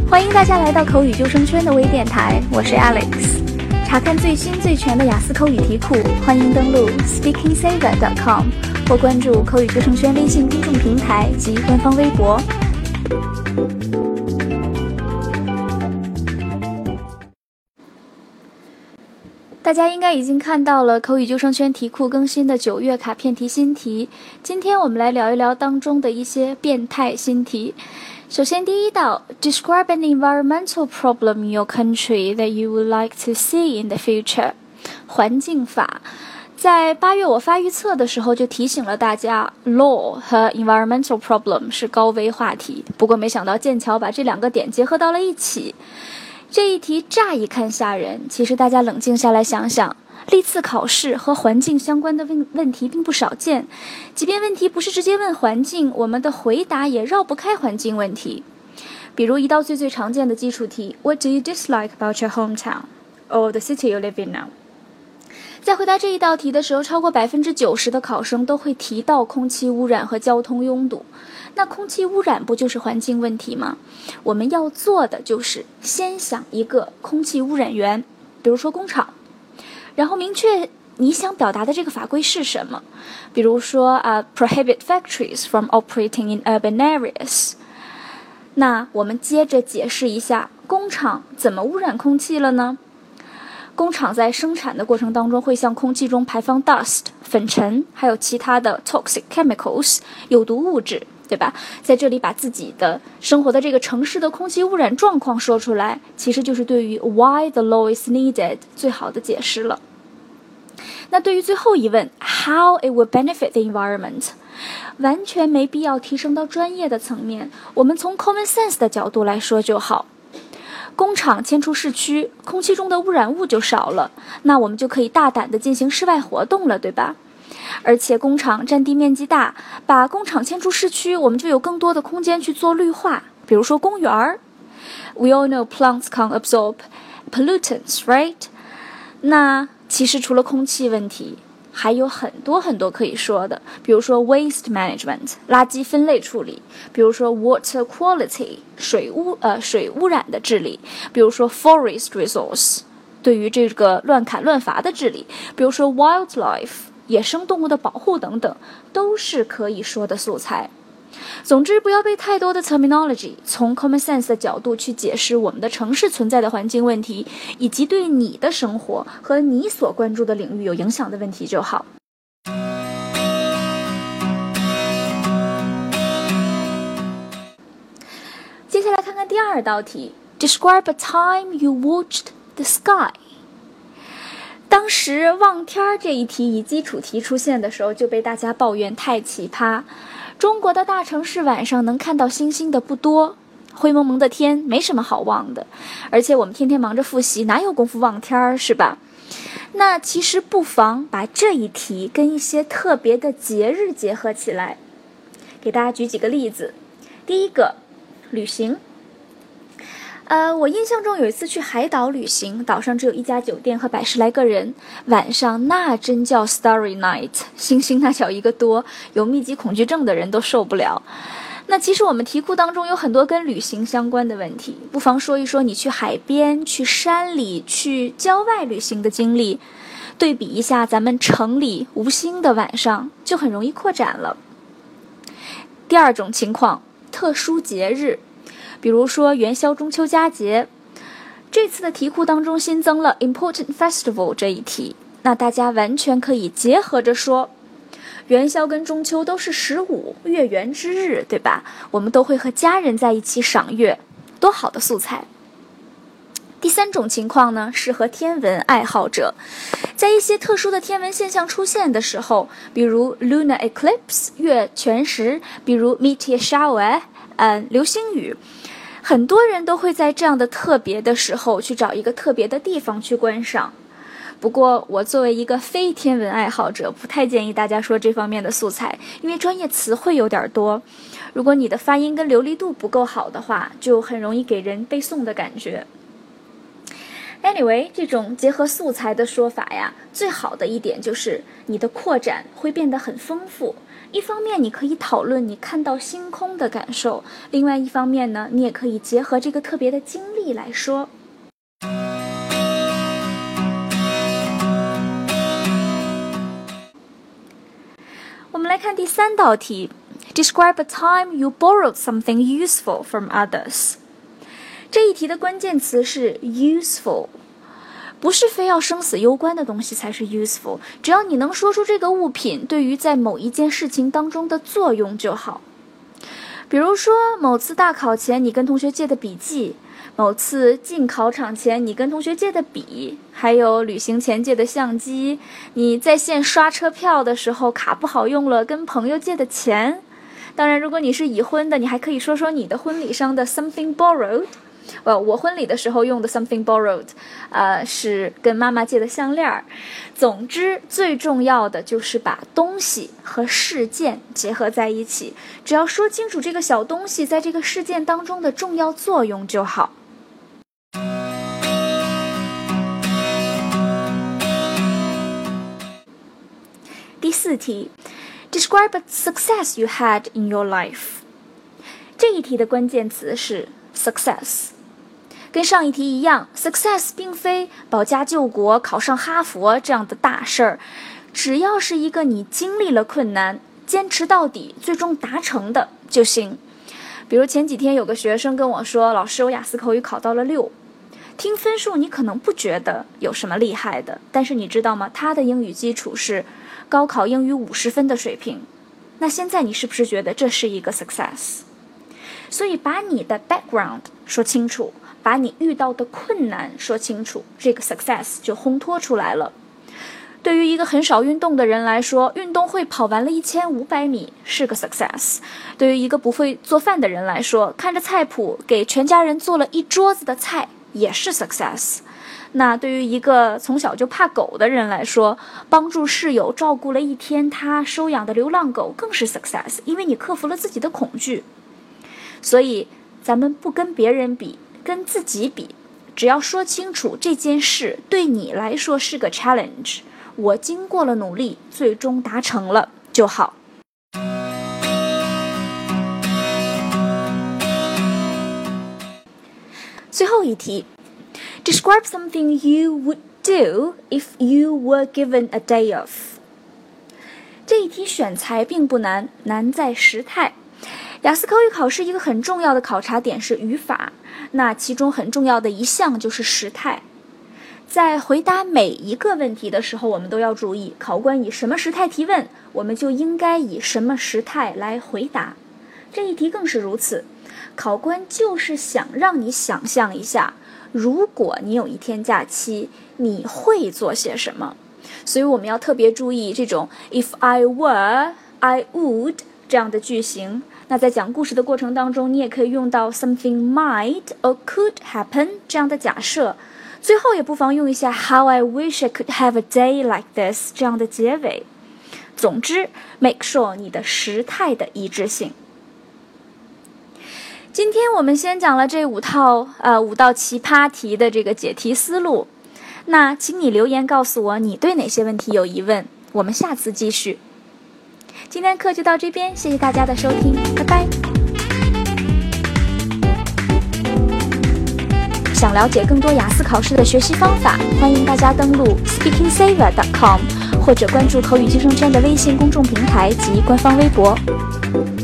欢迎大家来到口语救生圈的微电台，我是 Alex。查看最新最全的雅思口语题库，欢迎登录 speakingsaver.com 或关注口语救生圈微信公众平台及官方微博。大家应该已经看到了口语救生圈题库更新的9月卡片题新题，今天我们来聊一聊当中的一些变态新题。首先第一道 Describe an environmental problem in your country that you would like to see in the future 环境法。在8月我发预测的时候就提醒了大家 Law 和 environmental problem 是高危话题，不过没想到剑桥把这两个点结合到了一起。这一题乍一看吓人，其实大家冷静下来想想，历次考试和环境相关的问题并不少见，即便问题不是直接问环境，我们的回答也绕不开环境问题。比如一道最常见的基础题 What do you dislike about your hometown? Or the city you live in now? 在回答这一道题的时候，超过90%的考生都会提到空气污染和交通拥堵。那空气污染不就是环境问题吗？我们要做的就是先想一个空气污染源，比如说工厂，然后明确你想表达的这个法规是什么，比如说prohibit factories from operating in urban areas。那我们接着解释一下工厂怎么污染空气了呢？工厂在生产的过程当中会向空气中排放 dust 粉尘，还有其他的 toxic chemicals 有毒物质，对吧？在这里把自己的生活的这个城市的空气污染状况说出来，其实就是对于 why the law is needed 最好的解释了。那对于最后一问 how it will benefit the environment 完全没必要提升到专业的层面，我们从 common sense 的角度来说就好。工厂迁出市区，空气中的污染物就少了，那我们就可以大胆地进行室外活动了，对吧？而且工厂占地面积大，把工厂迁出市区，我们就有更多的空间去做绿化，比如说公园儿。We all know plants can absorb pollutants, right? 那其实除了空气问题，还有很多可以说的，比如说 waste management 垃圾分类处理，比如说 water quality 水污染的治理，比如说 forest resource 对于这个乱砍乱伐的治理，比如说 wildlife 野生动物的保护等等，都是可以说的素材。总之不要被太多的 terminology 从 common sense 的角度去解释我们的城市存在的环境问题，以及对你的生活和你所关注的领域有影响的问题就好。接下来看看第二道题 Describe a time you watched the sky。 当时望天这一题以基础题出现的时候就被大家抱怨太奇葩，中国的大城市晚上能看到星星的不多，灰蒙蒙的天没什么好望的，而且我们天天忙着复习，哪有功夫望天是吧？那其实不妨把这一题跟一些特别的节日结合起来，给大家举几个例子。第一个，旅行。我印象中有一次去海岛旅行，岛上只有一家酒店和100来个人，晚上那真叫 Starry Night， 星星那叫一个多，有密集恐惧症的人都受不了。那其实我们题库当中有很多跟旅行相关的问题，不妨说一说你去海边、去山里、去郊外旅行的经历，对比一下咱们城里无星的晚上，就很容易扩展了。第二种情况，特殊节日，比如说元宵、中秋、佳节。这次的题库当中新增了 Important Festival 这一题，那大家完全可以结合着说，元宵跟中秋都是15月圆之日，对吧？我们都会和家人在一起赏月，多好的素材。第三种情况呢，适合天文爱好者，在一些特殊的天文现象出现的时候，比如 lunar eclipse 月全食，比如 meteor shower 流星雨，很多人都会在这样的特别的时候去找一个特别的地方去观赏。不过我作为一个非天文爱好者，不太建议大家说这方面的素材，因为专业词汇有点多，如果你的发音跟流利度不够好的话，就很容易给人背诵的感觉。Anyway， 这种结合素材的说法呀，最好的一点就是你的扩展会变得很丰富， 一方面你可以讨论你看到星空的感受，另外一方面呢，你也可以结合这个特别的经历来说。我们来看第3道题 Describe a time you borrowed something useful from others。 这一题的关键词是 useful， 不是非要生死攸关的东西才是 useful， 只要你能说出这个物品对于在某一件事情当中的作用就好。比如说某次大考前你跟同学借的笔记，某次进考场前你跟同学借的笔，还有旅行前借的相机，你在线刷车票的时候卡不好用了跟朋友借的钱。当然如果你是已婚的，你还可以说说你的婚礼上的 something borrowed。我婚礼的时候用的 something borrowed，是跟妈妈借的项链。总之，最重要的就是把东西和事件结合在一起，只要说清楚这个小东西在这个事件当中的重要作用就好。第4题 Describe a success you had in your life。 这一题的关键词是 success。跟上一题一样 success 并非保家救国考上哈佛这样的大事儿，只要是一个你经历了困难坚持到底最终达成的就行。比如前几天有个学生跟我说，老师我雅思口语考到了6。听分数你可能不觉得有什么厉害的，但是你知道吗，他的英语基础是高考英语50分的水平。那现在你是不是觉得这是一个 success？ 所以把你的 background 说清楚，把你遇到的困难说清楚，这个 success 就烘托出来了。对于一个很少运动的人来说，运动会跑完了1500米是个 success。 对于一个不会做饭的人来说，看着菜谱给全家人做了一桌子的菜也是 success。 那对于一个从小就怕狗的人来说，帮助室友照顾了一天他收养的流浪狗更是 success， 因为你克服了自己的恐惧。所以咱们不跟别人比，跟自己比，只要说清楚这件事对你来说是个 challenge， 我经过了努力最终达成了就好。最后一题 Describe something you would do if you were given a day off。 这一题选材并不难，难在时态。雅思口语考试一个很重要的考察点是语法，那其中很重要的一项就是时态。在回答每一个问题的时候，我们都要注意，考官以什么时态提问，我们就应该以什么时态来回答。这一题更是如此，考官就是想让你想象一下，如果你有一天假期，你会做些什么。所以我们要特别注意这种 if I were, I would 这样的句型。那在讲故事的过程当中，你也可以用到 something might or could happen 这样的假设。最后也不妨用一下 how I wish I could have a day like this 这样的结尾。总之 make sure 你的时态的一致性。今天我们先讲了这5道奇葩题的这个解题思路，那请你留言告诉我你对哪些问题有疑问，我们下次继续。今天课就到这边，谢谢大家的收听，拜拜。想了解更多雅思考试的学习方法，欢迎大家登录 speakingsaver.com 或者关注口语救生圈的微信公众平台及官方微博。